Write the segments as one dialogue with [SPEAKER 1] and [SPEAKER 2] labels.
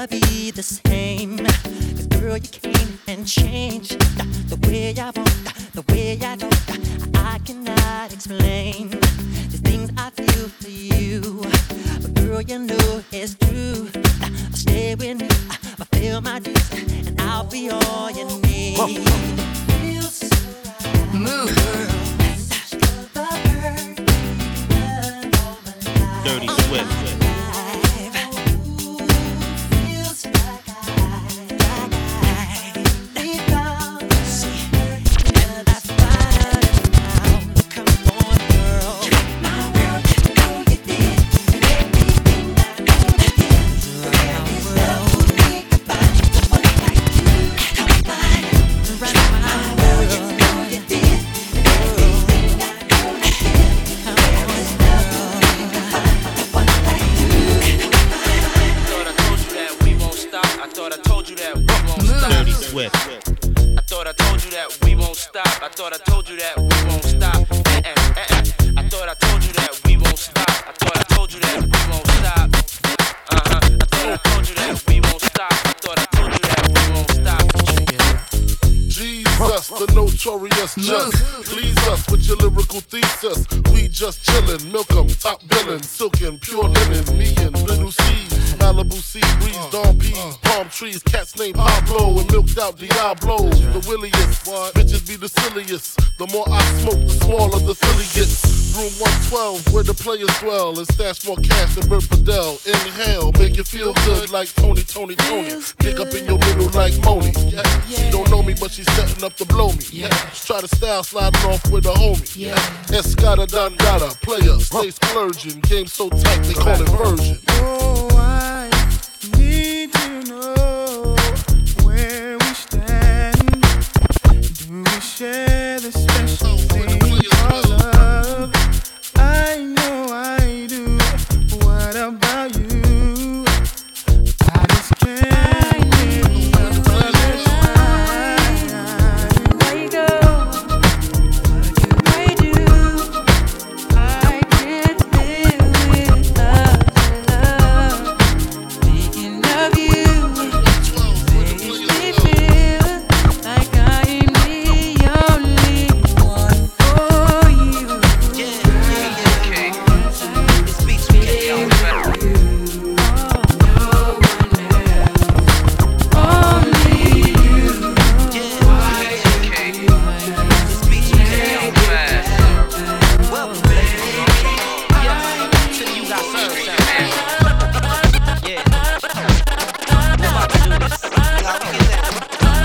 [SPEAKER 1] never be the same. 'Cause girl, you came and changed the way I walk, the way I talk. I cannot explain the things I feel for you. But girl, you know it's true. I'll stay with me, I'll feel my dues, and I'll be all you need.
[SPEAKER 2] Move.
[SPEAKER 3] Dirty Swift.
[SPEAKER 4] I thought I told you that we won't stop. I thought I told you that we won't stop. I thought I told you that we won't stop. I thought I told you that we won't stop. I thought I told you that we won't stop.
[SPEAKER 5] Jesus, the notorious just please us with your lyrical thesis. We just chillin', milk 'em, top billin', silkin', pure linen, me and Little C, Malibu sea breeze, dawn peas, palm trees, cats named Pablo and milked out Diablo. The williest, bitches be the silliest. The more I smoke, the smaller the silly gets. Room 112, where the players dwell, and stash more cash than Bert Fidel. Inhale, make you feel good like Tony. Pick up in your middle like Moni. She don't know me, but she's setting up to blow me. Try to style sliding off with a homie. Escada Dangada, player, stay splurging. Game so tight, they call it version.
[SPEAKER 6] Oh, I need to know where we stand. Do we share the special thing called love? I know I do. What about you? I just can't live another life.
[SPEAKER 7] Where you go? What do I do? I can't live without love. Thinking of you makes me feel like I am the only one for you.
[SPEAKER 4] Okay. This beats me getting better.
[SPEAKER 7] Only you.
[SPEAKER 4] Okay. This beats me getting fast. Well, baby. You got served, man. Yeah. We're about to do this. How we get that?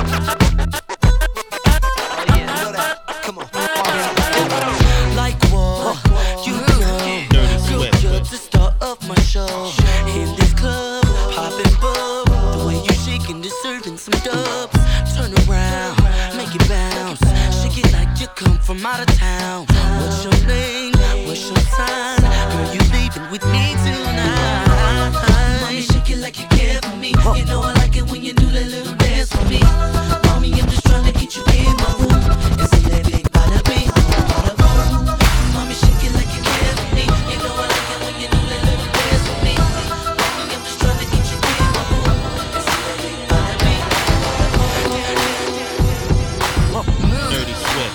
[SPEAKER 4] Oh yeah, know that. Come on.
[SPEAKER 1] Like what? You know,
[SPEAKER 3] Dirty
[SPEAKER 1] you're
[SPEAKER 3] Swift.
[SPEAKER 1] just the star of my show. In this club, popping bub. The way you shaking, deserving some dubs. Turn around, make it bounce. Shake it like you come from out of town. What's your name? What's your sign? Girl, you leaving with me tonight. Mommy, shake it like you care for me. You know I like it when you do that little dance for me. Mommy, I'm just trying to get you in my room and see that big bada bing, bada boom. Mommy, shake it like you care for me. You know I like it when you do that little dance for me. Mommy, I'm just trying to get you in my room and see that big bada bing, bada boom.
[SPEAKER 3] Dirty Swift.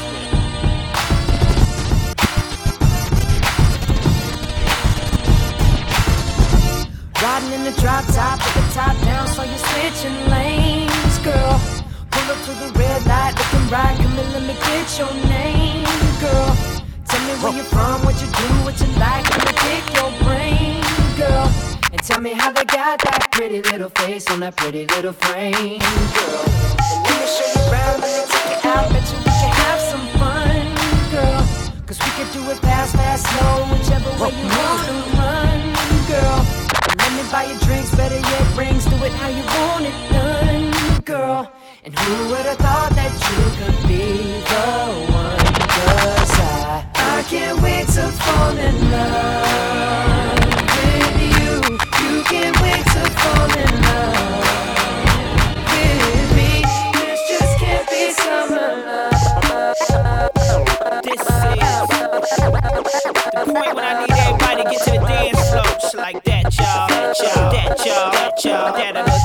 [SPEAKER 7] Riding in the drop top with the top down, so you're switching lanes, girl. Pull up to the red light, looking right, come and let me get your name, girl. Tell me where you're from, what you do, what you like, let me pick your brain, girl. And tell me how they got that pretty little face on that pretty little frame, girl. And let me show you around, let me take you out, bet you we can have some fun, girl. 'Cause we could do it fast, slow, whichever way you wanna run, girl. Let me buy you drinks, better yet rings. Do it how you want it done, girl. And who would've thought that you could be the one? 'Cause I can't wait to fall in love with you. You can't wait to fall in love with me. This just can't be summer love.
[SPEAKER 8] This is the point when I need everybody to get to the dance floor. Just like that, y'all. That, y'all. That, y'all. That, y'all. That,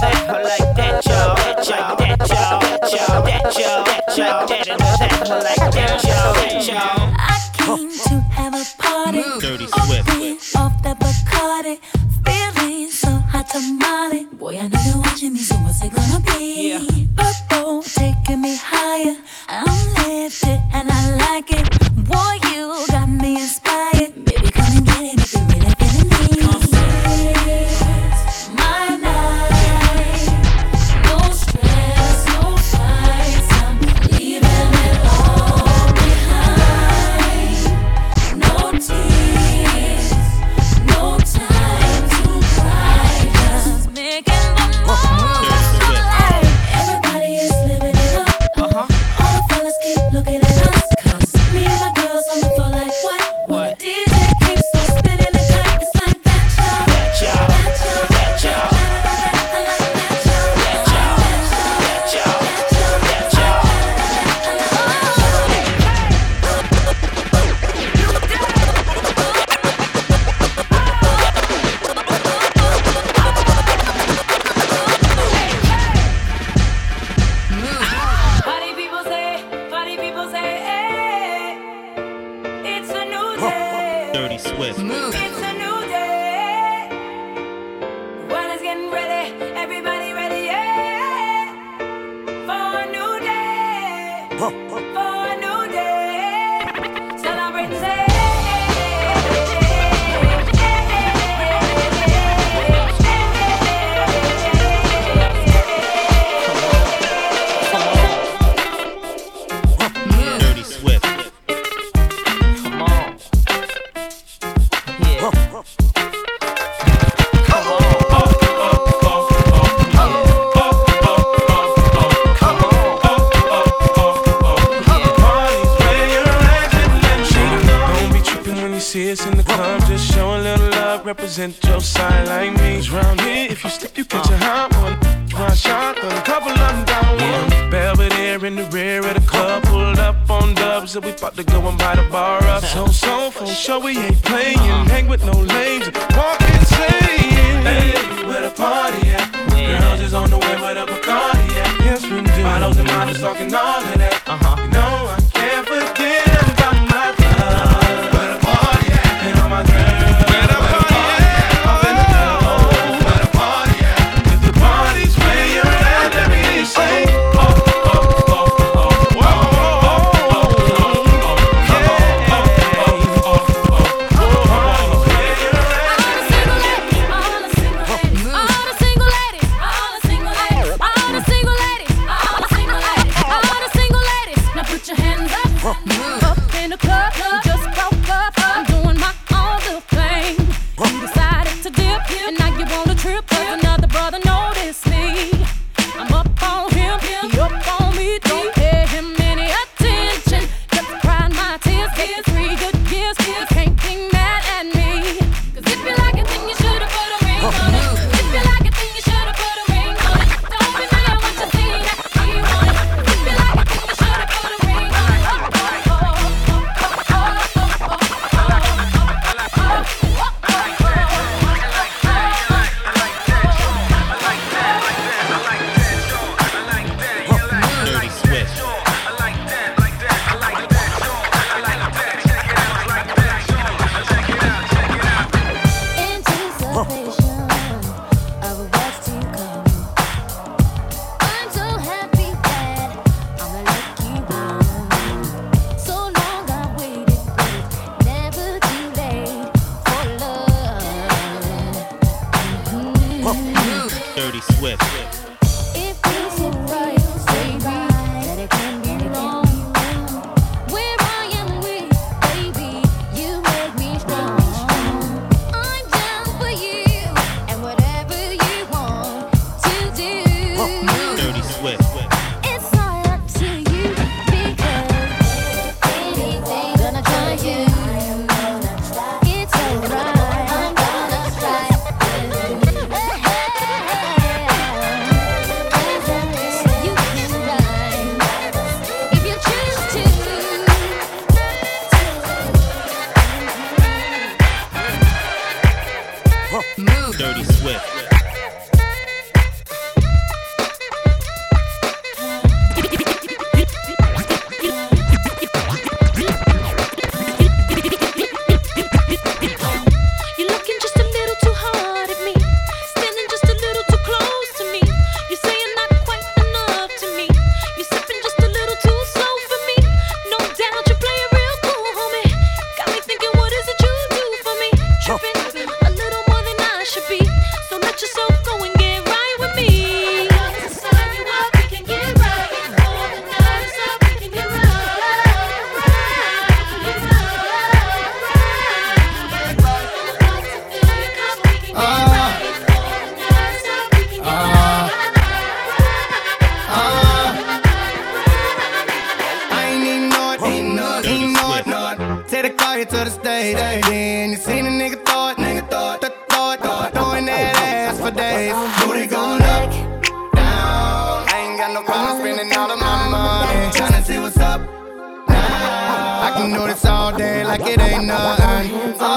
[SPEAKER 8] Like that, y'all. That, y'all. That, y'all. That, y'all. That, y'all. That, y'all. Like that, y'all. That, y'all.
[SPEAKER 2] I came to have a party.
[SPEAKER 8] Dirty Swift.
[SPEAKER 2] Off the Bacardi. Feeling so hot tamale. Boy, I know you're watching me, so what's it gonna be?
[SPEAKER 8] Yeah.
[SPEAKER 2] Purple taking me higher. I'm lifted and I like it. Boy, you got me inspired. Baby, come and get it if you're really feeling me. It's my night. No stress, no fights. I'm leaving it all behind. No tears, no time to cry. Just making the most of life. Everybody is living it up. All the fellas keep looking at us. 'Cause me and my girls on the floor like what?
[SPEAKER 8] What?
[SPEAKER 2] The DJ keeps on spinning the cut. It's like that, y'all.
[SPEAKER 8] That, y'all. That, y'all.
[SPEAKER 2] I like that, y'all.
[SPEAKER 8] That, y'all. That, y'all. That, y'all.
[SPEAKER 7] Party people say, hey, it's a new day.
[SPEAKER 8] Dirty Swift.
[SPEAKER 7] It's a new day. The world is getting ready. Everybody ready, yeah. For a new day. For a new day. Celebrate and say,
[SPEAKER 8] Dirty Swift. Come on. Yeah.
[SPEAKER 6] Don't be tripping when you see us in the club. Just show a little love, represent your side like me. 'Cause round here, if you slip, you catch a hot one. One shot, but a couple of them down one. Belvedere in the rear of the club, pulled up on dubs, and we about to go and buy the bar up. So for sure we ain't playing. Hang with no lames, walk insane. Hey, where the party at? Girls is on the way with a Bacardi at. Yes, we do. Models and models talking all of that. You know I can't forget about my love. Where the party at? And all my girls. Where the party at? Up in the club. Where the party at? If the party's where you're at, let me say.
[SPEAKER 2] All the single ladies.
[SPEAKER 3] lady. Then you seen a nigga throw it, throwing that ass for days. Booty going up, down. I ain't got no problem spending all of my money. Tryna see what's up now. I can do this all day like it ain't nothing.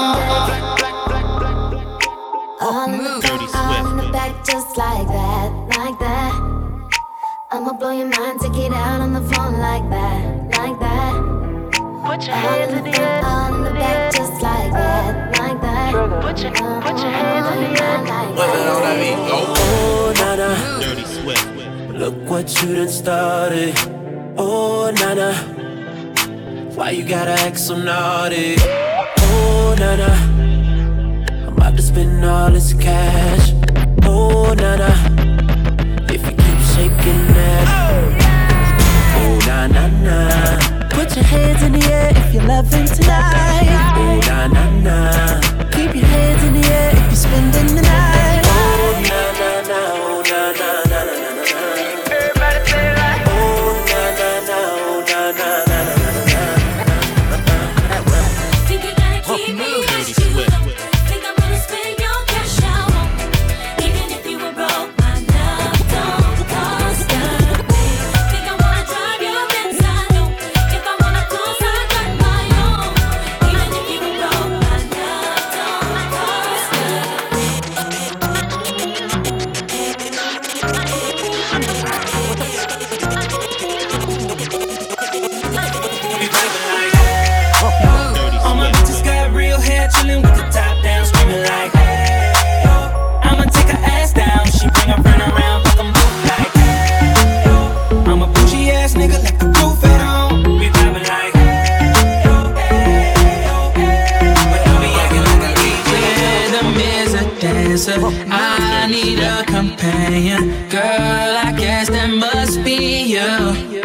[SPEAKER 2] All in the back, just like that, like that. I'ma blow your mind, take it out on the phone like that, like that.
[SPEAKER 9] Put your hands in the air.
[SPEAKER 2] All in the back, just like that, like that.
[SPEAKER 9] Put your hands in the air.
[SPEAKER 1] Oh, nana, Dirty Swift. Look what you done started. Oh, nana, why you gotta act so naughty? Oh, nana, I'm about to spend all this cash. Oh, nana, if you keep shaking that. Oh, na na na. Put your hands in the air if you're loving tonight. Oh, na na na. Keep your hands in the air if you're spending the night. Oh, na na na. Oh, na na na na na na. Everybody say it like. Oh, na na na. Oh, na na na na na na.
[SPEAKER 2] Think you gotta keep me as you go. Think I'm gonna spend your cash out. Even if you were broke, my love don't cost a thing. Think I wanna drive your Benz, I know. If I wanna close, I got my own. Even if you were broke, my love don't cost a
[SPEAKER 8] All my bitches got real hair, chillin' with the top down, screaming like, hey, yo. I'ma take her ass down, she bring her friend around, fuck 'em both like, hey, yo. I'm a bougie ass nigga, like the roof at home. We vibing like, hey, yo, hey, yo, hey. But don't be acting like a rhythm is a dancer, I need a companion. Girl, I guess that must be you.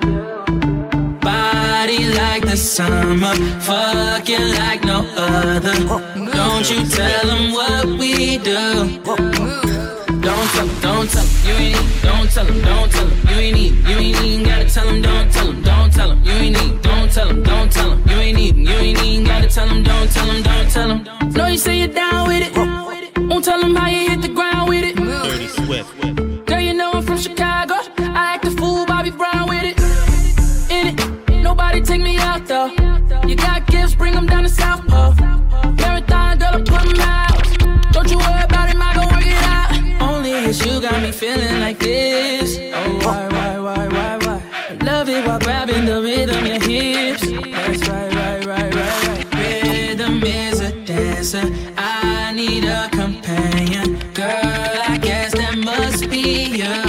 [SPEAKER 8] Body like the summer, fucking like no other. Don't you tell them what we do. Don't tell them, you ain't need. Don't tell them, you ain't need. You ain't even gotta tell them, don't tell them, you ain't need. Don't tell them, you ain't need. You ain't even gotta tell them, don't tell them. No, you say you're down with it. Won't tell them how you hit the ground with it.
[SPEAKER 1] Dirty Swift.
[SPEAKER 8] Girl, you know I'm from Chicago. I act a fool, Bobby Brown with it. In it, nobody take me out though. You got gifts, bring them down to South Pole. Marathon, girl, I put them out. Don't you worry about him, I gon' work it out. Only it's you got me feeling like this. Oh, why? I love it while grabbing the rhythm, your hips. That's right. Rhythm is a dancer, I need a companion. Girl, I guess that must be you.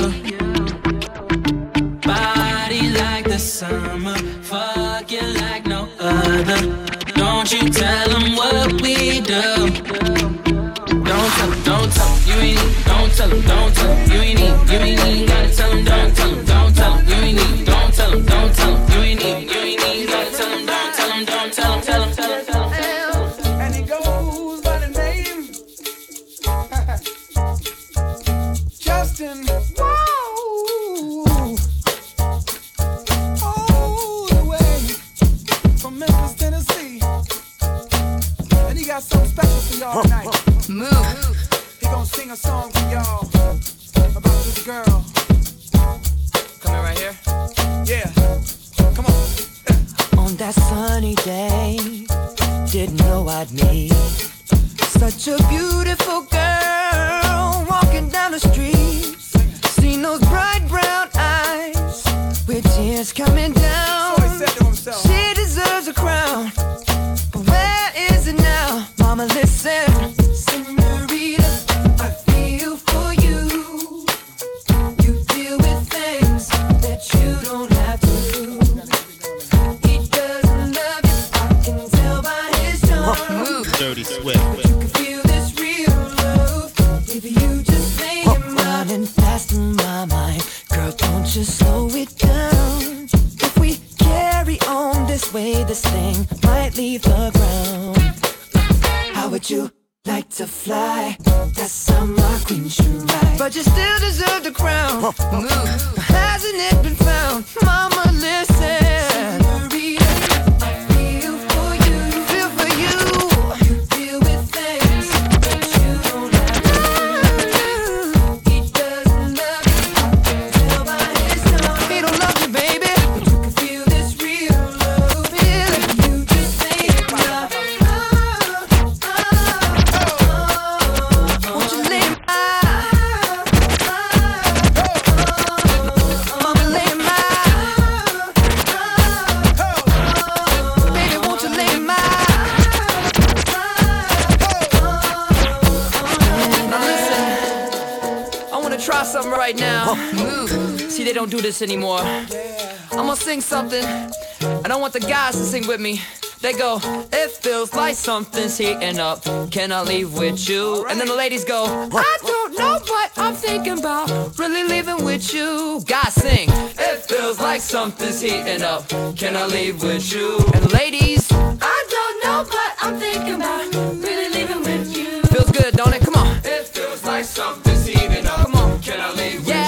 [SPEAKER 8] Body like the summer, fucking like no other. Don't you tell them what we do. Don't tell them, you ain't need. Don't tell them, you ain't need. You ain't even gotta tell them, don't tell them, you ain't need. Don't tell them, you ain't need. You ain't even gotta tell them, don't tell them.
[SPEAKER 10] And he goes by the name Justin. Wow. All the way from Memphis, Tennessee. And he got something special for y'all tonight.
[SPEAKER 9] Move.
[SPEAKER 10] He gonna sing a song for y'all about this girl.
[SPEAKER 8] Coming right here.
[SPEAKER 10] Yeah, come on.
[SPEAKER 11] On that sunny day, didn't know I'd meet such a beautiful girl walking down the street. Seen those bright brown eyes with tears coming down.
[SPEAKER 10] So he said to himself,
[SPEAKER 11] she deserves a crown, but where is it now? Mama, listen, senorita, I feel for you. You deal with things that you don't have to do. He doesn't love you, I can tell by his tone.
[SPEAKER 1] Dirty Swift.
[SPEAKER 11] But you can feel this real love if you just lay your mind. Running fast in my mind, girl, don't you slow it down. If we carry on this way, this thing might leave the ground. How would you like to fly? That summer queen should ride, but you still deserve the crown. Hasn't it been found? Mama, listen. Senorita, I feel for you. Feel for you.
[SPEAKER 12] something right now. See, they don't do this anymore. I'm gonna sing something, and I want the guys to sing with me. They go, it feels like something's heating up. Can I leave with you? And then the ladies go, I don't know, but I'm thinking about really leaving with you. Guys sing, it feels like something's heating up. Can I leave with you? And the ladies, I don't know, but I'm thinking about really leaving with you. Feels good, don't it? Come on. It feels like something's heating up. Come on. Can I leave with you?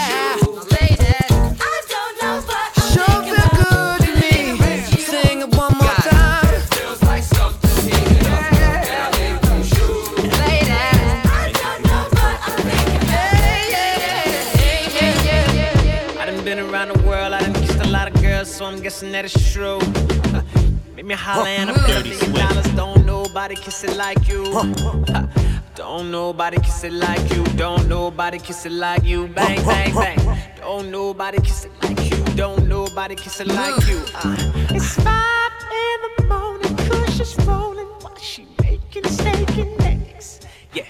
[SPEAKER 13] So I'm guessing that it's true. Make me holler and I'm $1 Don't nobody kiss it like you. Don't nobody kiss it like you. Don't nobody kiss it like you. Bang, bang, bang. Don't nobody kiss it like you. Don't nobody kiss it like you. It's 5 in the morning, Kush is rolling while she making steak and eggs. Yeah.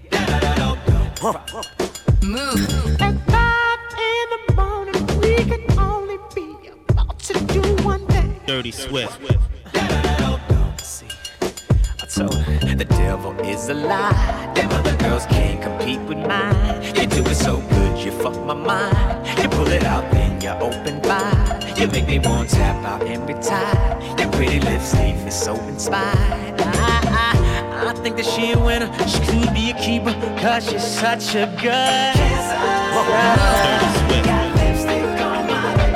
[SPEAKER 13] Move. At 5 in the morning, we can only be to do one thing.
[SPEAKER 14] Dirty Swift.
[SPEAKER 13] See, I told her the devil is a lie. Them other girls can't compete with mine. You do it so good, you fuck my mind. You pull it out, then you open wide. You make me want to tap out and retire. Your pretty lipstick is so inspired. I think that she a winner. She could be a keeper, cause she's such a good kisser. Got lipstick on my lips.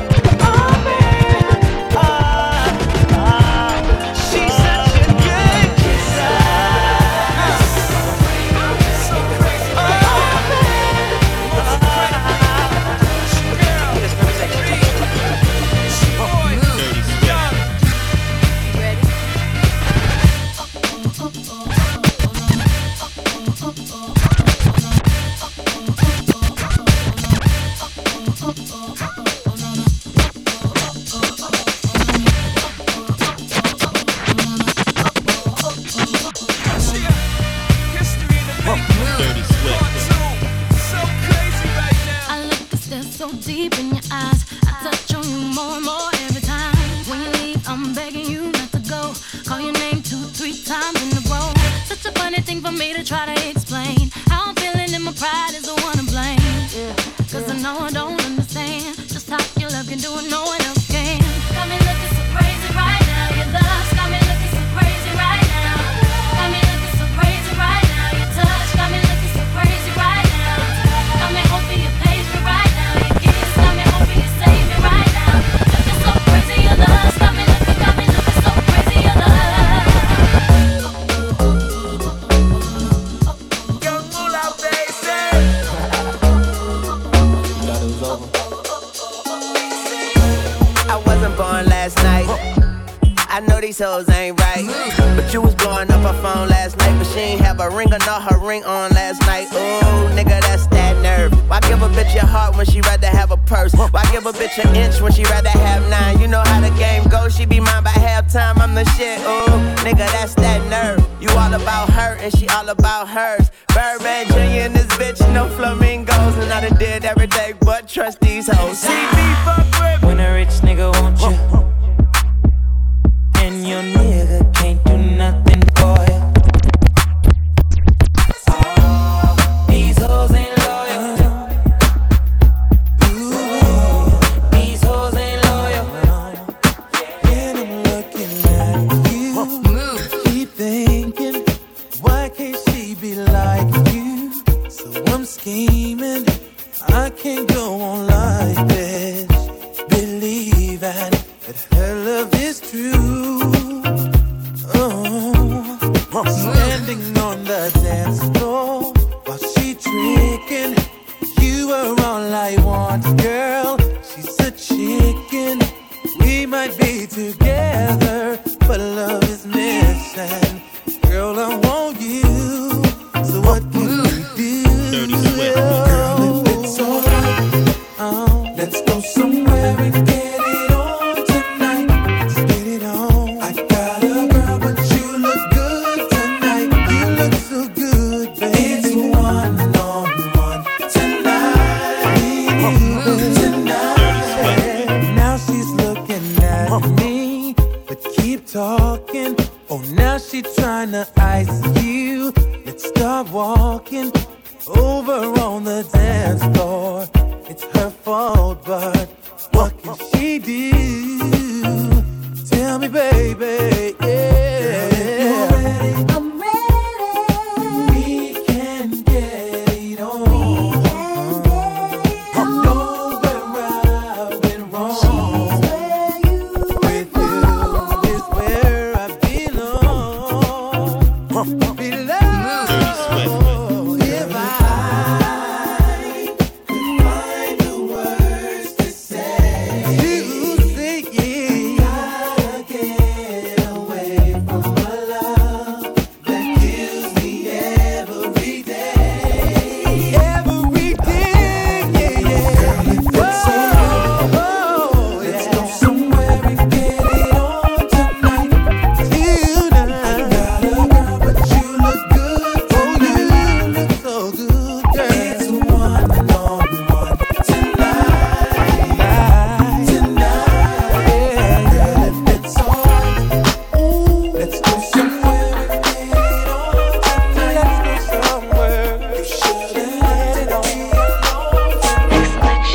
[SPEAKER 15] Hoes ain't right, but you was blowing up her phone last night, but she ain't have a ring or not her ring on last night. Ooh, nigga, that's that nerve. Why give a bitch your heart when she rather have a purse? Why give a bitch an inch when she rather have 9? You know how the game goes, she be mine by halftime. I'm the shit. Ooh, nigga, that's that nerve. You all about her and she all about hers. Birdman Jr. and this bitch, no flamingos, and I done did every day but trust these hoes. See me fuck with
[SPEAKER 13] when a rich nigga want you. And your nigga can't do nothing for you. These hoes ain't loyal. These hoes ain't loyal.
[SPEAKER 11] And I'm looking at you. Keep thinking, why can't she be like you? So I'm scheming, I can't go on like this. Believing that her love is true. Standing on the dance floor while she tricking, you are all I want, girl. She's a chicken. We might be together, but love is missing. Girl, I want you. So what can we do? Girl, if it's alright, let's go somewhere and get it on tonight. Let's get it on. I got a girl, but you look good tonight. You look so good, baby. It's one-on-one tonight.
[SPEAKER 10] tonight. Now she's looking at me, but keep talking. Oh, now she tryna ice you. Let's start walking over on the dance floor. It's her fault, but what can she do? Tell me, baby, yeah.
[SPEAKER 2] I'm ready.
[SPEAKER 10] We can get it on. I know where I've been wrong. With you is where I belong. If I could find the words to say, you say yeah. Gotta get away from my love that kills me every day. Every day, yeah, yeah. Let's go somewhere and get it on tonight. Tonight. Got a girl, but you look good tonight. Oh, you look so good, girl. It's one-on-one tonight. Tonight, girl, if it's alright. Let's go somewhere and get it on tonight. Let's go somewhere. You should let it all be alone tonight.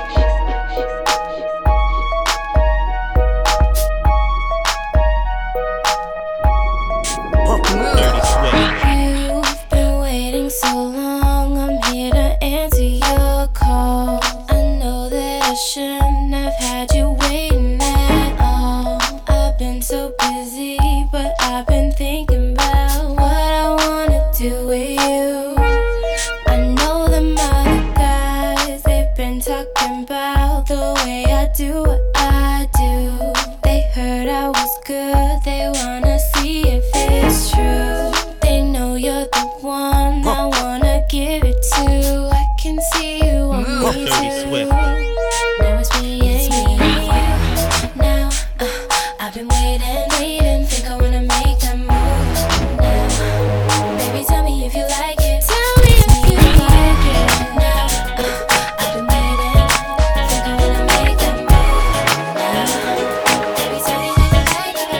[SPEAKER 2] You've been waiting so long, I'm here to answer your call. I know that I shouldn't have had you waiting at all. I've been so busy, but I've been thinking about what I wanna do with you. I know them other guys, they've been talking about the way I do what I do. They heard I was good, they wanna see if it's true. They know you're the one I wanna give it to. I can see you on me too. Now it's me and you. Now I've been waiting, think I wanna make that move now. Baby, tell me if you like it. Tell me if you like it. Now I've been waiting, think I wanna make that move now. Baby, tell me if you like it.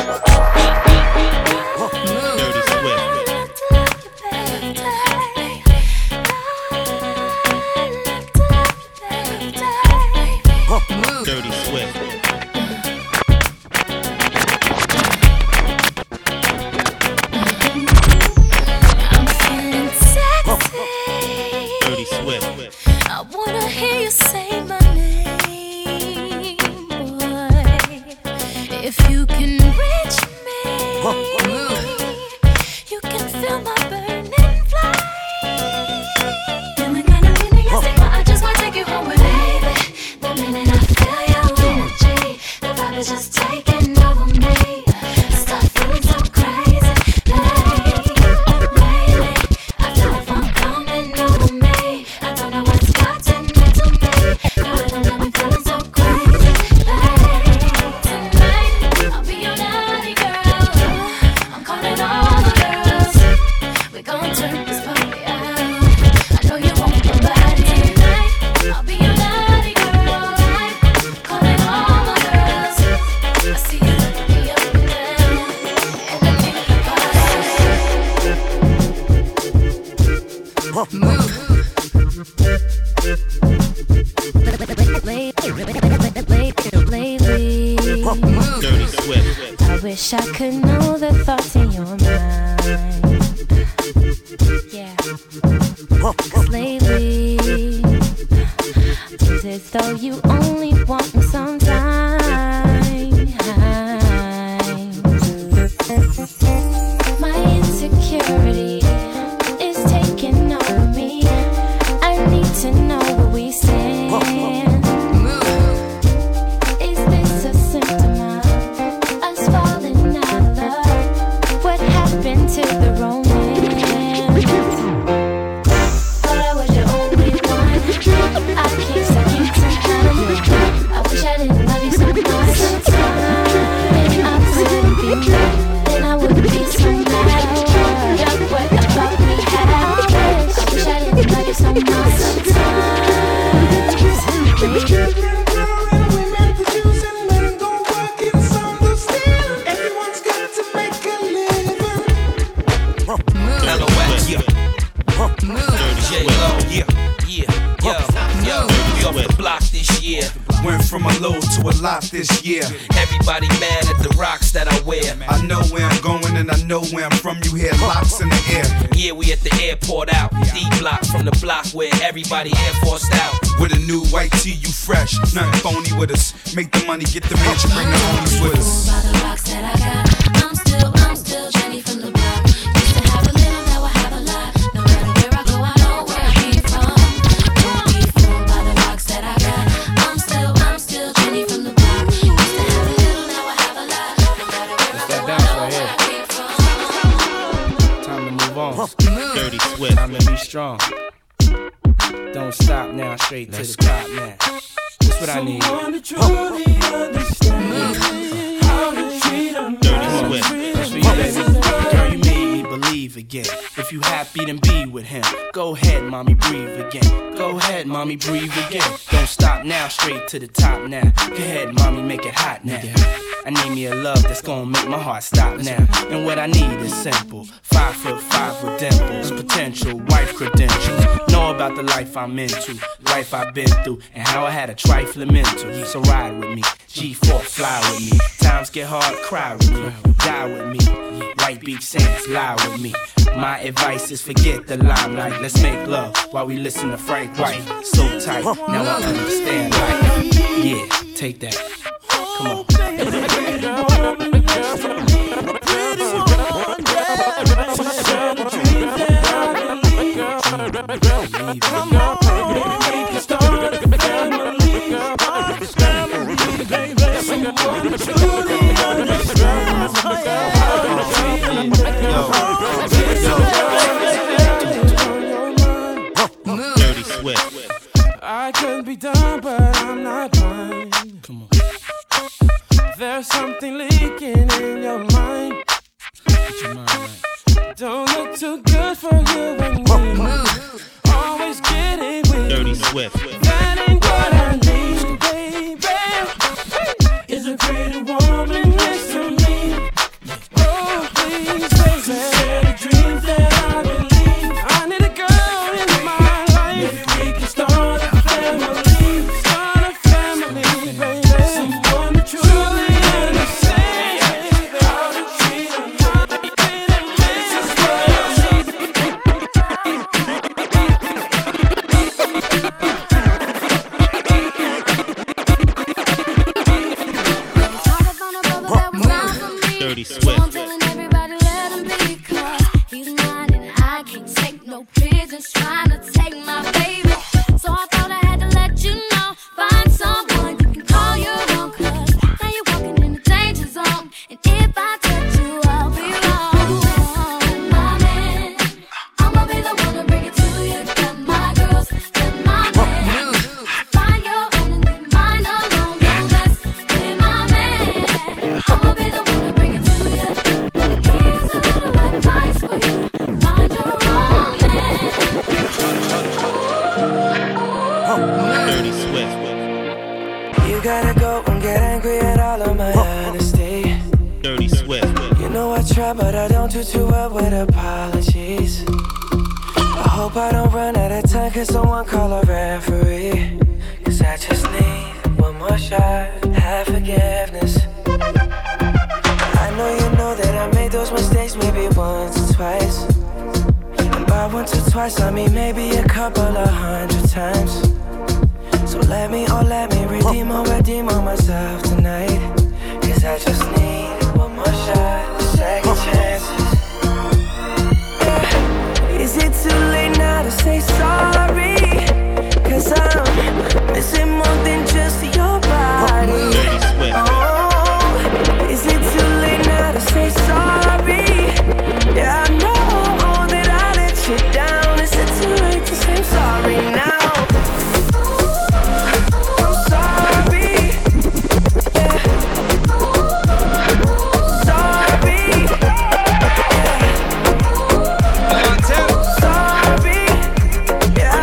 [SPEAKER 13] Dirty Swift.
[SPEAKER 2] I'm feeling sexy.
[SPEAKER 13] Dirty Swift.
[SPEAKER 2] I wanna hear you say my name, boy. If you can reach me, you can feel my burning flame. And the kind of feeling you say, I just wanna take you home with me, baby. The minute I feel your energy, the vibe is just taking over me. I start feeling so crazy, lately. I feel like I'm coming over me. I don't know what's gotten into me. The rhythm got me feeling so crazy, tonight I'll be your naughty girl. I'm calling all the girls. We gon' turn this party out. I know you want my body tonight. I'll be your naughty girl. Calling all my girls. I see you looking me up and down, and I think the party. Lately,
[SPEAKER 13] Dirty Swift.
[SPEAKER 2] I wish I could know the thoughts in your mind. Yeah. 'Cause lately, it's as though you only want me sometimes. My insecurity is taking over me. I need to know where we stand. Is this a symptom of us falling out of love? What happened to the romance? Thought I was your only one. I keep second to none. I wish I didn't love you
[SPEAKER 14] Went from a low to a lot this year.
[SPEAKER 16] Everybody mad at the rocks that I wear.
[SPEAKER 14] I know where I'm going and I know where I'm from. You hear locks in the air.
[SPEAKER 16] Yeah, we at the airport out. D block from the block where everybody Air Forced out.
[SPEAKER 14] With a new white tee, you fresh. Nothing phony with us. Make the money, get the mansion, bring the homies with us.
[SPEAKER 2] By the rocks that I got, I'm still Jenny from the block. Used to have a little, now I have a lot. No matter where I go, I know where I came from. Don't be fooled by the rocks that I got. I'm still Jenny from the block. Used to have a little, now I have a lot. No matter where I go, I know where I came from.
[SPEAKER 17] Time to move on. Dirty Swift. Time to be strong. Don't stop now, straight to the top now. That's what I need. Dirty Swift. That's for you, baby. Girl, you made me believe again. If you happy, then be with him. Go ahead, mommy, breathe again. Go ahead, mommy, breathe again. Don't stop now, straight to the top now. Go ahead, mommy, make it hot now. I need me a love that's gonna make my heart stop now. And what I need is simple. 5'5" with dimples, potential wife credentials. Know about the life I'm into, life I've been through, and how I had a trifling mental. So ride with me, G4 fly with me. Times get hard, cry with me, die with me. White Beach Saints, lie with me. My advice is forget the limelight. Let's make love while we listen to Frank White. So tight, now I understand life. Yeah, take that. Come on.
[SPEAKER 6] Dirty Swift.
[SPEAKER 17] I could be done, but I'm not blind. Come on. There's something leaking in your mind. Get your mind right. Don't look too good for you and me. Always getting weak.
[SPEAKER 6] Dirty Swift.
[SPEAKER 17] That ain't what I need, baby. Is a pretty woman next to me. Oh, please, baby. Share the dreams that I believe. I need a girl in my life. Maybe we can start a family. Start a family, baby. Someone to truly understand how to treat a man. This is what I need.
[SPEAKER 6] Dirty Swift.
[SPEAKER 2] Everybody let him be, 'cause he's mine and I can't take no prisoners trying to take my baby. So I thought I had to let you know, find someone you can call your own, 'cause now you're walking in the danger zone, and if I touch you, I'll be wrong. My man, I'ma be the one to bring it to you. Got my girls, got my man. Find your own and leave mine alone. Don't mess with my man. I'ma be the one to bring it to you. Here's a little advice for you. Find your own man.
[SPEAKER 6] Dirty Swift.
[SPEAKER 11] You gotta go and get angry at all of my honesty.
[SPEAKER 6] Dirty Swift.
[SPEAKER 11] You know I try, but I don't do too well with apologies. I hope I don't run out of time, 'cause someone call a referee. 'Cause I just need one more shot, have forgiveness. I know you know that I made those mistakes maybe once or twice. And by once or twice, I mean maybe a couple of 100 times. So let me redeem on myself tonight. 'Cause I just need one more shot, second chances. Yeah. Is it too late now to say sorry? 'Cause I'm missing more than just your body. Oh, is it too late now to say sorry? Yeah, I know that I let you down. Is it too late to say I'm sorry now? I'm sorry. Yeah. Sorry. Yeah. Sorry. Yeah,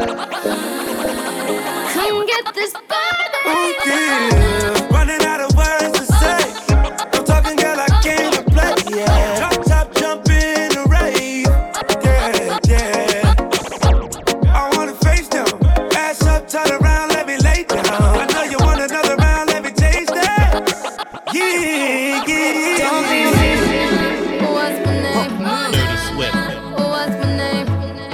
[SPEAKER 2] Come get this body.
[SPEAKER 10] Yeah. Running out of words to say. I'm talking, girl, I came to play. Yeah. Drop top, jump in the rave. Yeah, yeah. I wanna face them. Ass up, turn around, let me lay down. I know you want another round, let me taste that. Yeah, yeah.
[SPEAKER 2] Don't be weird. What's my name?
[SPEAKER 13] Dirty Swift.
[SPEAKER 2] What's my name?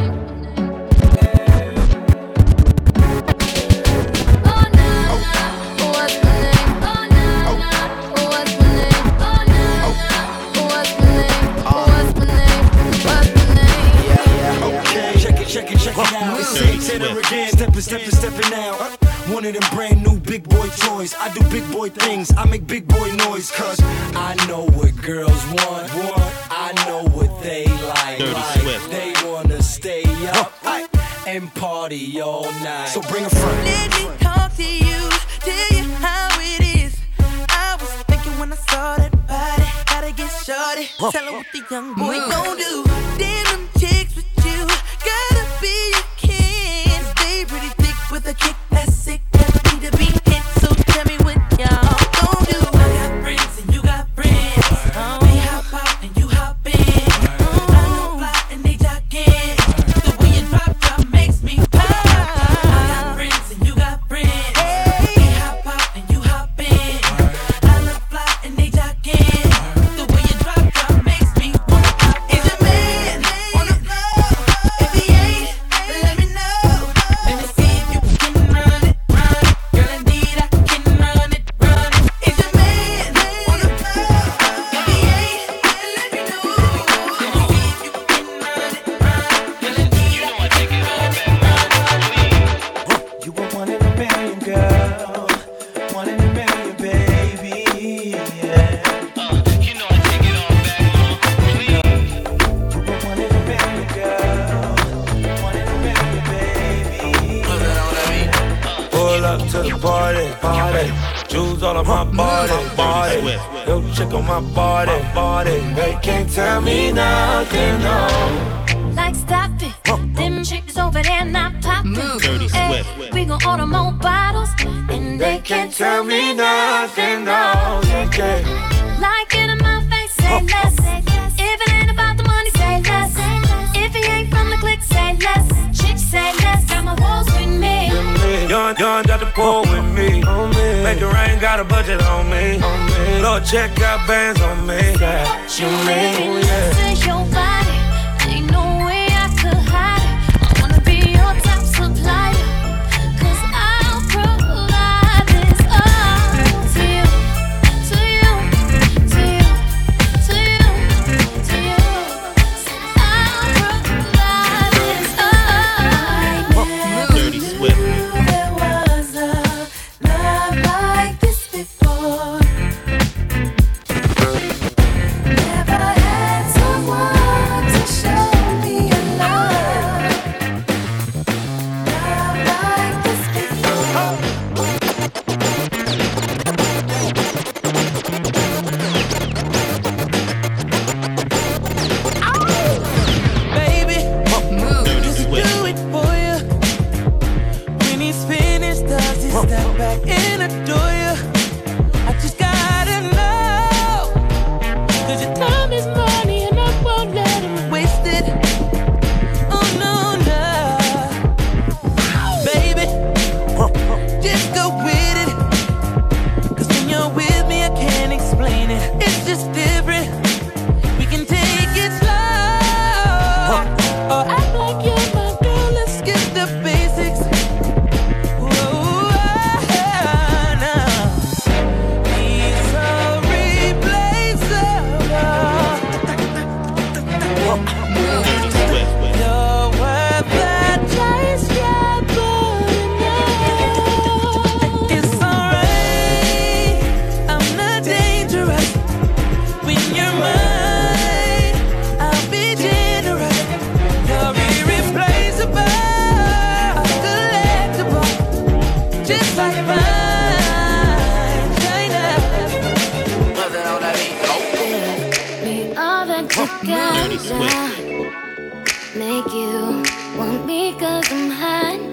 [SPEAKER 18] Check it out. Say it again. Stepping out. One of them brand new big boy toys. I do big boy things. I make big boy noise. Cause I know what girls want. I know what they like. They wanna stay up and party all night. So bring a friend.
[SPEAKER 19] Let me talk to you. Tell you how it is. I was thinking when I saw that body. Gotta get shorty. Tell her what the young boy gon' do. Damn them chicks with you. Gotta be a kid. Stay pretty thick with a kick that's sick. That need to be hit. So tell me what y'all gon' do. I got friends and you got friends. They hop out and you hop in. I know fly and they jogging. The way you drop makes me pop. I got friends and you got friends. They hop out and you hop in. I love fly and they jogging. The way you drop makes me wanna pop. Is your man on the floor? If he ain't, let me know. Let me see if you can run it. Girl, indeed I can run it. Is your man on the floor? If he ain't, let me know. Let me see if you can run it. Girl, indeed I can run it.
[SPEAKER 10] You were one in a million, girl. 1 in a million, baby. Yeah.
[SPEAKER 4] You know I take it all back, please.
[SPEAKER 10] You were 1 in a million, girl. 1 in a million, baby. Pull up to the party. Jewels all on my body. Yo, chick on my body. They can't tell me nothing, no.
[SPEAKER 2] Like stop it. Them chicks over there not popping.
[SPEAKER 13] Dirty
[SPEAKER 2] Ay,
[SPEAKER 13] Swift.
[SPEAKER 2] we gon' order more bottles, and they can't tell me
[SPEAKER 10] nothing, no. Yeah.
[SPEAKER 2] Like it in my face, say less. If it ain't about the money, say less. If he ain't from the clique, say less. Chicks say less. Got my walls with me.
[SPEAKER 10] Young got the pool with me. Make it rain, got a budget on me. Lord, check got bands on me.
[SPEAKER 2] You let me to your body. Ain't no way I could hide it. I wanna be your top supplier. 'Cause I'll provide this all to you, to you, to you, to you, to you. I'll provide this all.
[SPEAKER 13] Dirty Swift.
[SPEAKER 2] There was a love like this before. Never had someone to show me a love like this before.
[SPEAKER 19] Baby,
[SPEAKER 13] Dirty
[SPEAKER 19] just
[SPEAKER 13] Swift.
[SPEAKER 19] do it for you. When he's finished, does he step back and adore you? I just gotta know. 'Cause your time is money and I won't let him waste it. Oh no, no. Baby, just go with it. 'Cause when you're with me, I can't explain it. It's just different. We can take it slow. Or act like you're my girl. Let's skip the basics. Whoa, now. He's so replaceable.
[SPEAKER 13] Dirty Swift.
[SPEAKER 19] You're worth the chase, yeah, but enough. It's alright. I'm not dangerous. When you're mine, I'll be generous. You're irreplaceable, collectible, just like mine. China.
[SPEAKER 2] Be all that you
[SPEAKER 13] Dirty
[SPEAKER 2] got.
[SPEAKER 13] Swift.
[SPEAKER 2] Make you want me 'cause I'm hot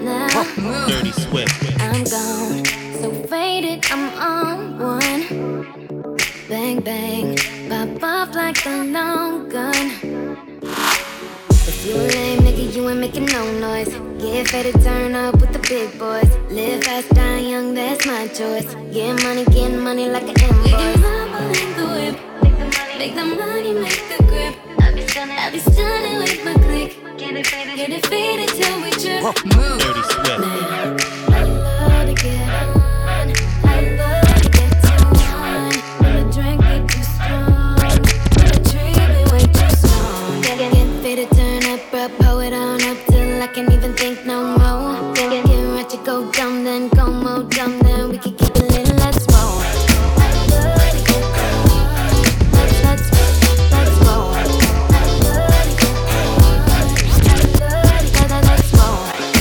[SPEAKER 20] making no noise. Get faded, turn up with the big boys. Live fast, die young, that's my choice. Getting money like an invoice. Making mama make the whip. Make the money, make the grip. I be stunning with my click. Get it faded till we trip. Move.
[SPEAKER 13] Dirty Swift.
[SPEAKER 20] Man, I love to get on. I love to get too on. When the drink get too strong, when the tree be way too strong. Get faded, turn up, pull it on up till I can't even think no more. Get ratchet, go dumb, then go more dumb, then we can keep it lit, let's roll. I love to get on. Let's roll. I love to get on. Let's roll.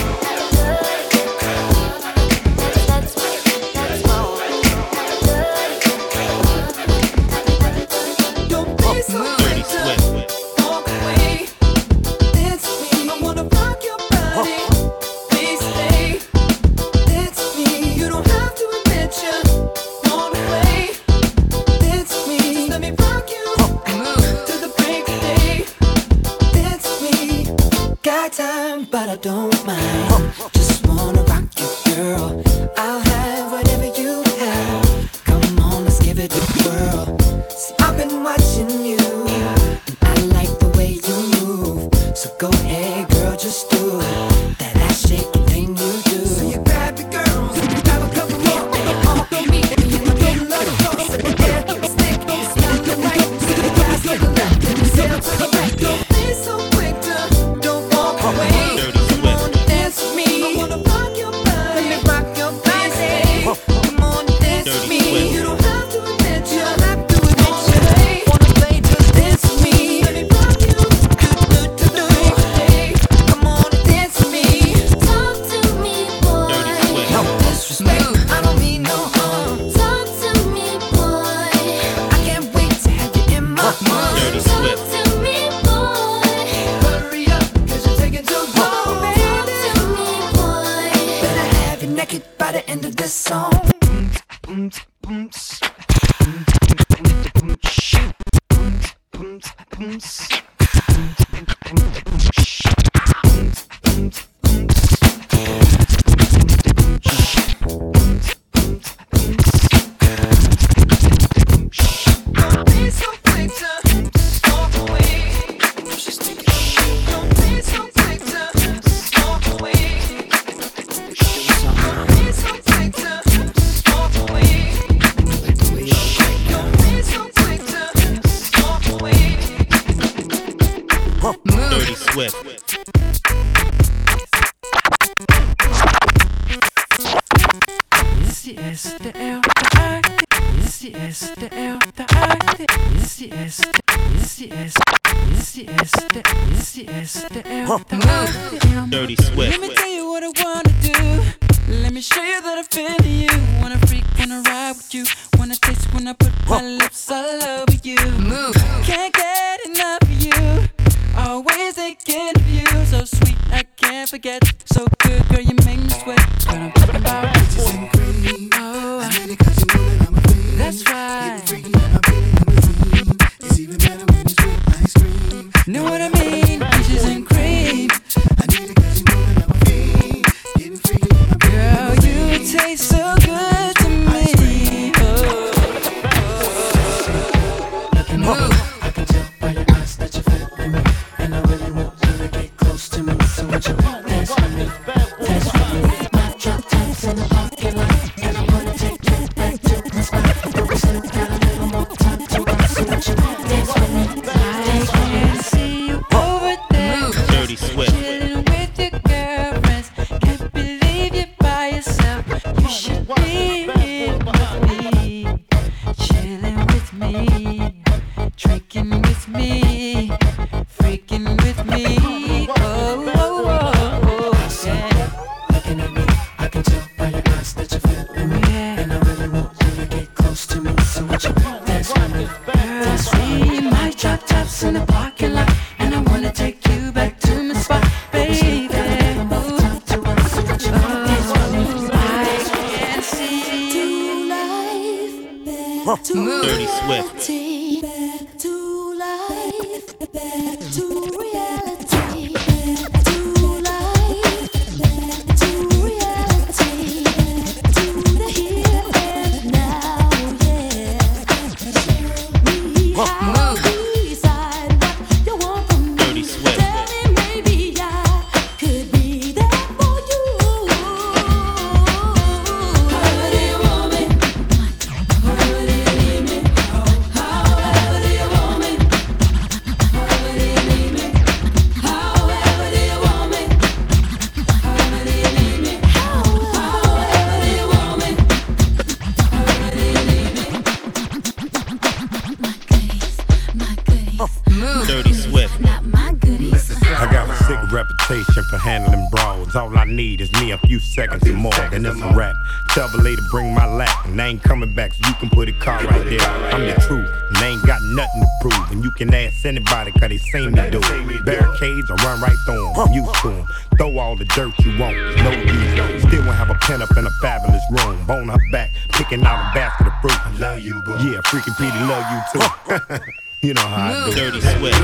[SPEAKER 11] Don't be so
[SPEAKER 13] Dirty Swift.
[SPEAKER 11] walk away. Dance with me, I wanna rock your body. Please stay. Dance with me, you don't have to admit you wanna play. Dance with me, just let me rock you to the break of day. Dance with me, got time, but I don't mind. Just wanna rock you, girl. I'll have whatever you have. Come on, let's give it a whirl. See, I've been watching you, and I like the way you move. So go ahead, girl, just do that ass shaking thing you do. So you grab your girls, and you grab a couple more, and you all throw me, and you get a little close, and you get a stick, and you smell the right, to the grass, to the left, and you sail to the right. Don't be so quick to, don't walk away.
[SPEAKER 13] Dirty Swift.
[SPEAKER 11] Dance with me, I wanna rock your body, let me rock your body. Come on, dance with me, you don't have to admit you have to admit you wanna play, just dance with me. Let me rock you, do. Hey, come on and dance with me.
[SPEAKER 20] Talk to me, boy.
[SPEAKER 11] No disrespect, I don't mean no harm.
[SPEAKER 20] Talk to me, boy.
[SPEAKER 11] I can't wait to have you in my arms.
[SPEAKER 13] Dirty
[SPEAKER 20] Talk
[SPEAKER 13] Swift.
[SPEAKER 20] to me, boy.
[SPEAKER 11] Hurry up, cause you're taking too long,
[SPEAKER 20] Talk
[SPEAKER 11] baby.
[SPEAKER 20] to me, boy.
[SPEAKER 11] Better have you naked by the end of this song. Don't be so quick to walk away. Don't be so quick to walk away. Don't be so quick to walk away. Don't be so quick to walk away.
[SPEAKER 13] Dirty Swift. Dirty Swift.
[SPEAKER 21] Let me tell you what I wanna do. Let me show you that I feel you. Wanna freak, wanna ride with you. Wanna taste when I put my lips all over you. Move. Can't get enough of you. Always thinking of you. So sweet, I can't forget. So good, girl, you make me sweat. What I'm talking about. Peaches and cream. Oh, that's right.
[SPEAKER 11] It's even better when it's with ice cream.
[SPEAKER 21] Know what I mean? Peaches and cream.
[SPEAKER 11] I need it cause you know that I'm a fiend. Getting freaky in my
[SPEAKER 21] Girl, you taste so good to me.
[SPEAKER 11] Move. I can tell by your eyes that you're feeling me, and I really want you to get close to me. So would you dance with me? Dance with me. My drop tops in the parking lot, and I wanna take you back to the spot. But we still got a little more time to rock. So would you dance with me?
[SPEAKER 21] I can see you over there.
[SPEAKER 13] Dirty Swift.
[SPEAKER 21] Chilling with your girlfriends. Can't believe you're by yourself. You should be here with me. Chilling with me. Drinking with me. Freaking with me. Oh, oh, oh, oh, yeah.
[SPEAKER 11] Looking at me, I can tell by your eyes that you're feeling me, and I really want you to get close to me. So would you dance with me?
[SPEAKER 21] Dance with me. My drop tops in the parking lot, and I wanna take you back to my spot, baby. Ooh.
[SPEAKER 13] Dirty Swift.
[SPEAKER 20] Back to life, back to reality, back to
[SPEAKER 5] need is me a few seconds or more, then it's a rap. Tell the lady bring my lap, and I ain't coming back, so you can put a car right there. I'm the truth, and they ain't got nothing to prove, and you can ask anybody, cause they seen me do it. Barricades, I run right through them, I'm used to them. Throw all the dirt you want, no use. Still won't have a pen up in a fabulous room. Bone her back, picking out a basket of fruit. I love you, boo. Yeah, freaking Petey love you too. You know how I do.
[SPEAKER 13] Dirty Swift.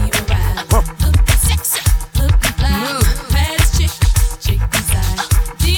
[SPEAKER 2] Move.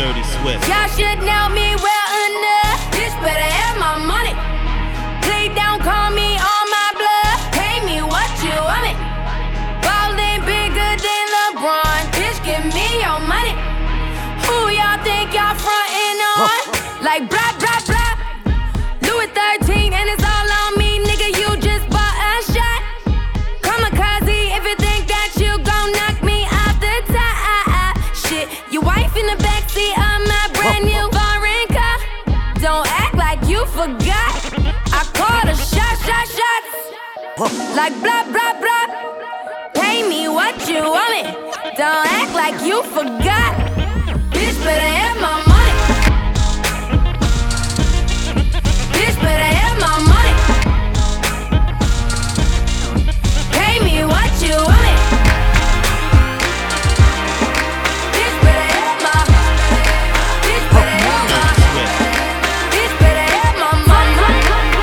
[SPEAKER 7] Dirty Swift.
[SPEAKER 2] Y'all should know me well enough. Bitch better have my money. Please don't call me on my blood. Pay me what you want it. Ballin' bigger than LeBron. Bitch, give me your money. Who y'all think y'all frontin' on? Like blah, blah, blah. Louis 13 and it's all on me, nigga. You just bought a shot. Kamikaze if you think that you gon' knock me out the top. Shit, your wife in the backseat of my brand new foreign car. Don't act like you forgot. I called a shot. Like blah, blah, blah. Pay me what you want it. Don't act like you forgot. Bitch better have my money. Bitch better have my money. Pay me what you want it. Bitch better have my. Bitch better have my. Bitch better have my money.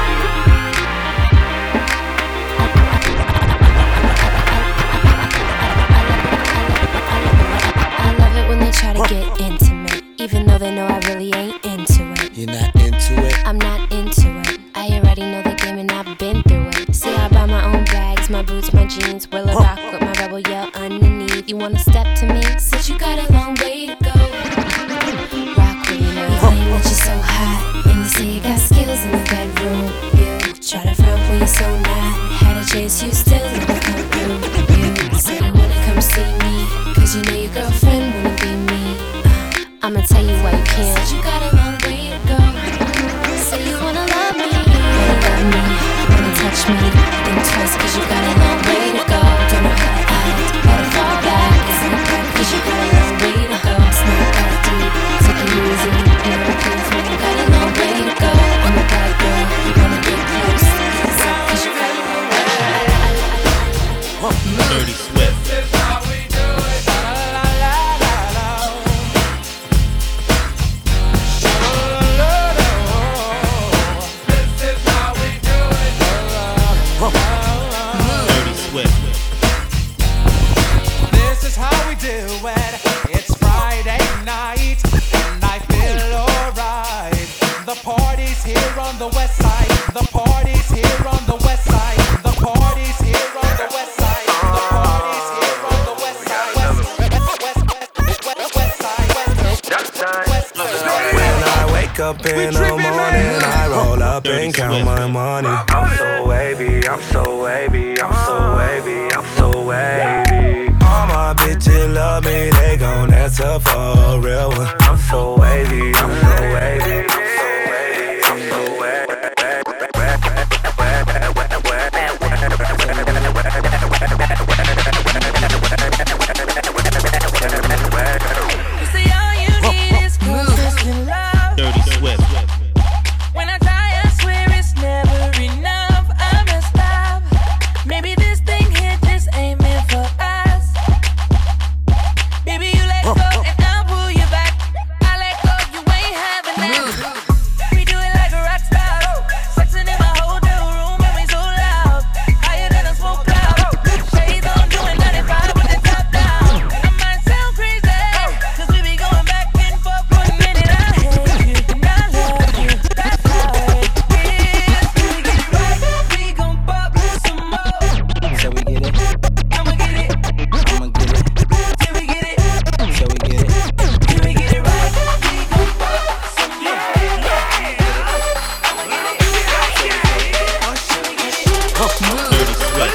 [SPEAKER 20] I love it when they try to get intimate, even though they know I really ain't into it.
[SPEAKER 22] You're not into it?
[SPEAKER 20] I'm not into it. I already know the game and I've been through it. See, I buy my own bags, my boots, my jeans. Will I rock with my rebel yell underneath? You wanna step to me? Said you got a long way to go. Rock with me now. You claim that you're so hot, and you say you got skills in the bedroom. You try to front when you're so not. Had a chase, you still never come through. You say you wanna come see me, cause you know your girlfriend wanna be me. I'ma tell you why you can't. Said you got a long way to go. Say you wanna love me, wanna touch me. Think twice cause you got a long way to go. Don't know how to act, better fall back. It's not right cause you got a long way to go. It's not that deep, take it easy. You know the proof when you got a long way to go. I'm a bad girl, you wanna get close. Cause you got a long way to go.
[SPEAKER 7] Dirty Swift.
[SPEAKER 10] This is how we do it. It's Friday night, and I feel alright. The party's here on the west side. The party's here on the west side. The party's here on the west side. The party's here on the west side.
[SPEAKER 23] When I wake up in the morning, I roll up and count my money. I'm so wavy, I'm so wavy, I'm so wavy, I'm so wavy. All my bitches love me, they gon' answer for a real one. I'm so wavy, I'm so wavy, I'm so wavy, I'm so wavy.
[SPEAKER 19] You say all you need is consistent love.
[SPEAKER 7] Dirty Swift.
[SPEAKER 19] When I try, I swear it's never enough. I must stop. Maybe this thing here just ain't meant for us. Baby, you let go and I'll pull you back. I let go, you ain't having that. We do it like a rock star. Sexing in my hotel room and we so loud. Higher than a smoke cloud. Shades on doing 95 with the top down. I might sound crazy, cause we be going back and forth for a minute. I hate you and I love you. That's how it is. Till we get it right, we gon' pop some more.
[SPEAKER 17] Shall we get it?
[SPEAKER 19] I'ma get it.
[SPEAKER 17] I'ma get it.
[SPEAKER 19] Till we get it.
[SPEAKER 17] Shall we get it?
[SPEAKER 19] Till we get it right, we gon' pop some more.
[SPEAKER 7] Dirty Swift.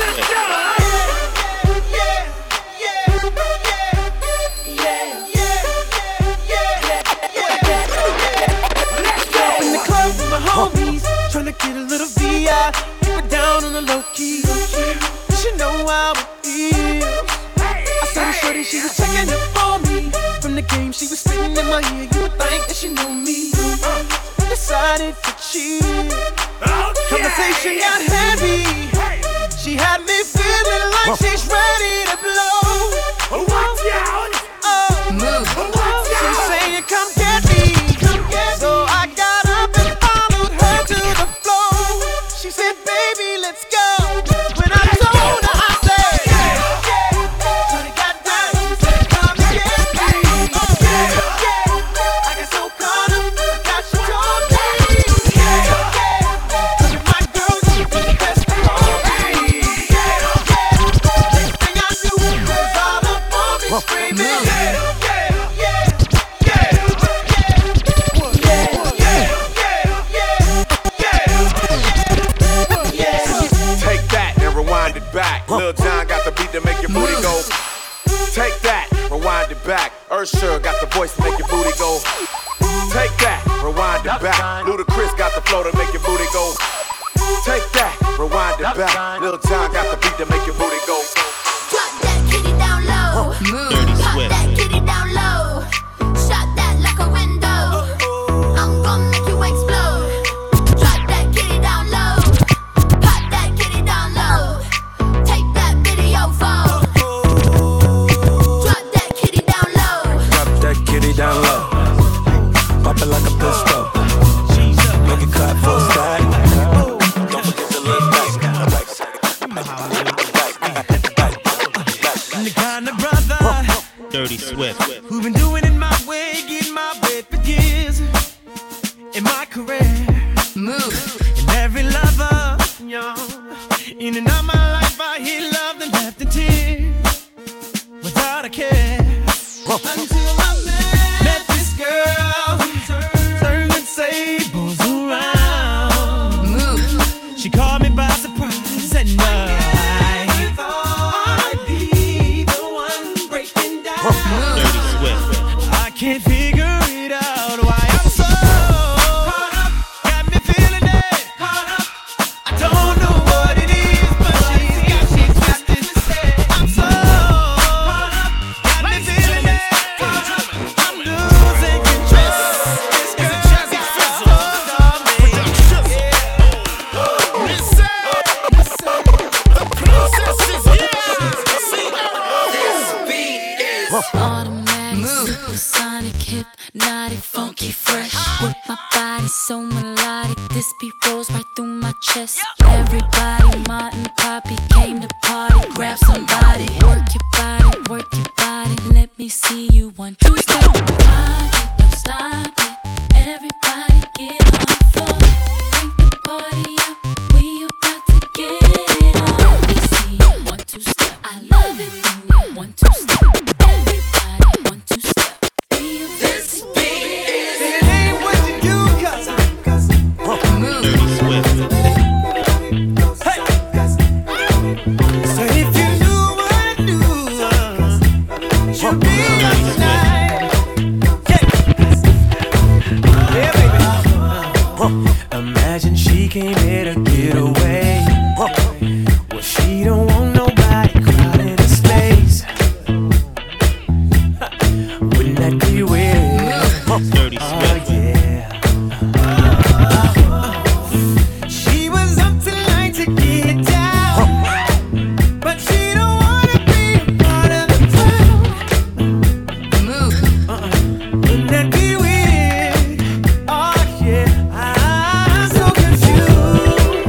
[SPEAKER 10] In the club with my homies, tryna get a little VI. Keep it down on the low key. You should know how it feels. I saw the shorty, she was checking up on me. From the game, she was spitting in my ear. You would think that she knew me. Decided to cheat. Conversation got heavy. She had me feeling like she's ready to blow. Watch out! She's saying, come get me. So I got up and followed her to the floor. She said, baby, let's go. When I told her, I said, Shorty got down, she said, come and get me.
[SPEAKER 3] Lil Jon got the beat to make your booty go. Take that, rewind it back. Usher got the voice to make your booty go. Take that, rewind it back. Ludacris got the flow to make your booty go. Take that, rewind it back. Lil Jon got the beat to make your booty go.
[SPEAKER 2] Drop that kitty down low. Pop that kitty down low. Shot that like a window. I'm gon' make you explode. Drop that kitty down low. Pop that kitty down low. Take that video phone. Drop that kitty down low.
[SPEAKER 23] Drop that kitty down low. Pop it like a pistol. Make it clap for a stack. Don't forget to look back.
[SPEAKER 10] I'm the kind of brother
[SPEAKER 7] Dirty Swift.
[SPEAKER 10] who been doing it my way, getting my way for years in my career.
[SPEAKER 12] Move.
[SPEAKER 10] And every lover, yo, in and out my life, I hear love and left in tears without a care. Until I met this girl, turning sables around.
[SPEAKER 12] Move.
[SPEAKER 10] She caught me by surprise and I thought I'd be the one breaking down.
[SPEAKER 7] Dirty Swift.
[SPEAKER 10] I can't figure it out why I'm so caught up. Got me feeling it. Caught up. I don't know what it is, but she's got this instead. I'm so caught up. Got me feeling it. Caught up. I'm losing control. This girl got hold on me.
[SPEAKER 2] The princess is here. This beat is automatic, supersonic, hypnotic, funky, fresh. With my body so melodic, this beat rolls right through my chest. Everybody, Martin, Poppy came to party. Grab somebody, work your body, let me see you 1, 2 step. Don't stop it. Everybody get on the floor. Bring the party up. We about to get it on. Let me see you 1, 2 step. I love it when you 1, 2 step. Everybody 1, 2 step. This beat is.
[SPEAKER 10] It ain't what you do, cause
[SPEAKER 7] Dirty Swift.
[SPEAKER 10] so if you knew what I do, you'd be up tonight. Yeah, baby. Imagine she came here to get away. Well, she don't want nobody crowding the space. Wouldn't that be weird?
[SPEAKER 7] Dirty
[SPEAKER 10] Oh,
[SPEAKER 7] Swift.
[SPEAKER 10] yeah. She was up tonight to get down, but she don't wanna be a part of the crowd.
[SPEAKER 12] Move.
[SPEAKER 10] Wouldn't that be weird? Oh yeah, I'm so confused.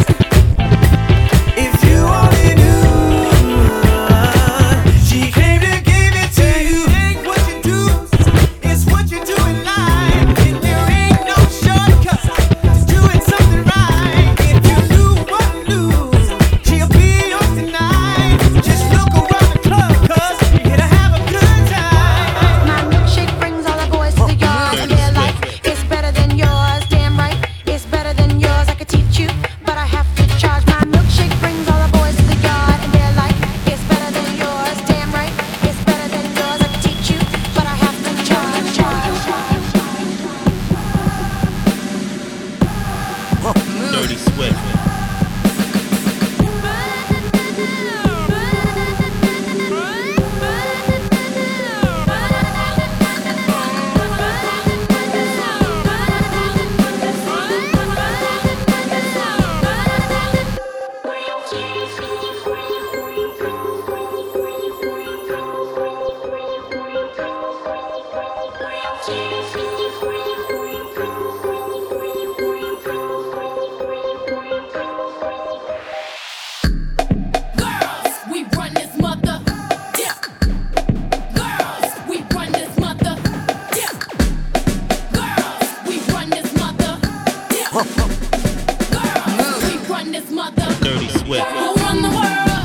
[SPEAKER 10] If you only knew, she came to give it to you. Ain't what you do, it's what you do in life. And there ain't no shortcut to doing something right. If you knew what I knew, she'll be yours tonight. Just look around the club, cause you're here to have a good time.
[SPEAKER 2] My milkshake brings all the boys to the yard, and they're like, it's better than yours. Damn right, it's better than yours. I could teach you, but I have to charge. My milkshake brings all the boys to the yard, and they're like, it's better than yours. Damn right, it's better than yours. I could teach you, but I have to charge.
[SPEAKER 7] Dirty Swift.
[SPEAKER 2] Girls, we run this mother. Yeah. Girls, we run this mother. Yeah. Girls, we run this mother. Yeah. Girls, we run this mother.
[SPEAKER 7] Dirty Swift.
[SPEAKER 2] Who run the world?